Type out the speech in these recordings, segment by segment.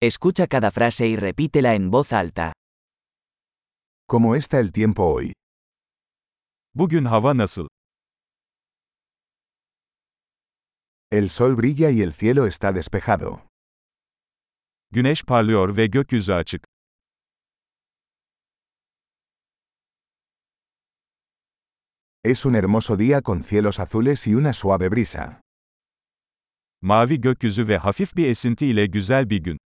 Escucha cada frase y repítela en voz alta. ¿Cómo está el tiempo hoy? Bugün hava nasıl? El sol brilla y el cielo está despejado. Güneş parlıyor ve gökyüzü açık. Es un hermoso día con cielos azules y una suave brisa. Mavi gökyüzü ve hafif bir esinti ile güzel bir gün.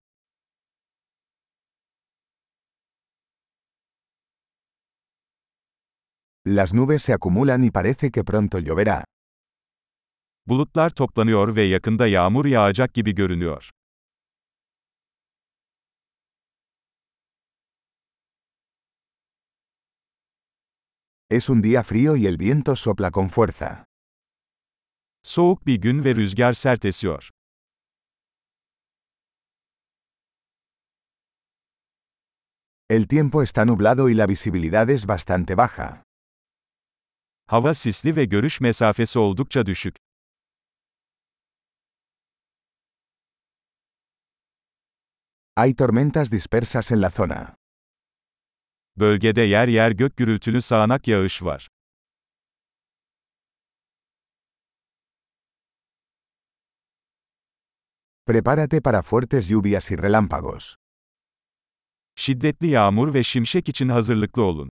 Las nubes se acumulan y parece que pronto lloverá. Bulutlar toplanıyor ve yakında yağmur yağacak gibi görünüyor. Es un día frío y el viento sopla con fuerza. Soğuk bir gün ve rüzgar sert esiyor. El tiempo está nublado y la visibilidad es bastante baja. Hava sisli ve görüş mesafesi oldukça düşük. Hay tormentas dispersas en la zona. Bölgede yer yer gök gürültülü sağanak yağış var. Prepárate para fuertes lluvias y relámpagos. Şiddetli yağmur ve şimşek için hazırlıklı olun.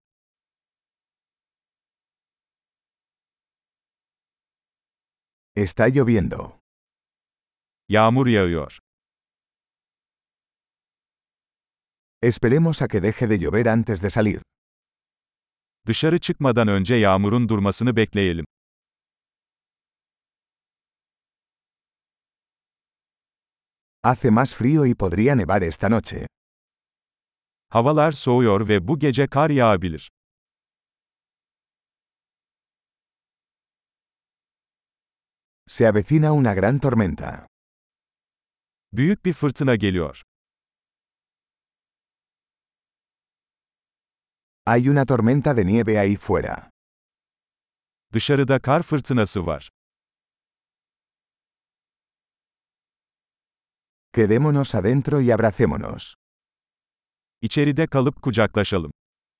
Está lloviendo. Yağmur yağıyor. Esperemos a que deje de llover antes de salir. Dışarı çıkmadan önce yağmurun durmasını bekleyelim. Hace más frío y podría nevar esta noche. Havalar soğuyor ve bu gece kar yağabilir. Se avecina una gran tormenta. Büyük bir fırtına geliyor. Hay una tormenta de nieve ahí fuera. Dışarıda kar fırtınası var. Quedémonos adentro y abracémonos. İçeride kalıp kucaklaşalım.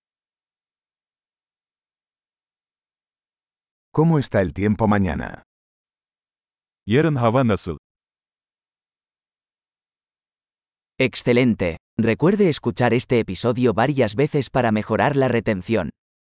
¿Cómo está el tiempo mañana? Yarın hava nasıl? Excelente. Recuerde escuchar este episodio varias veces para mejorar la retención.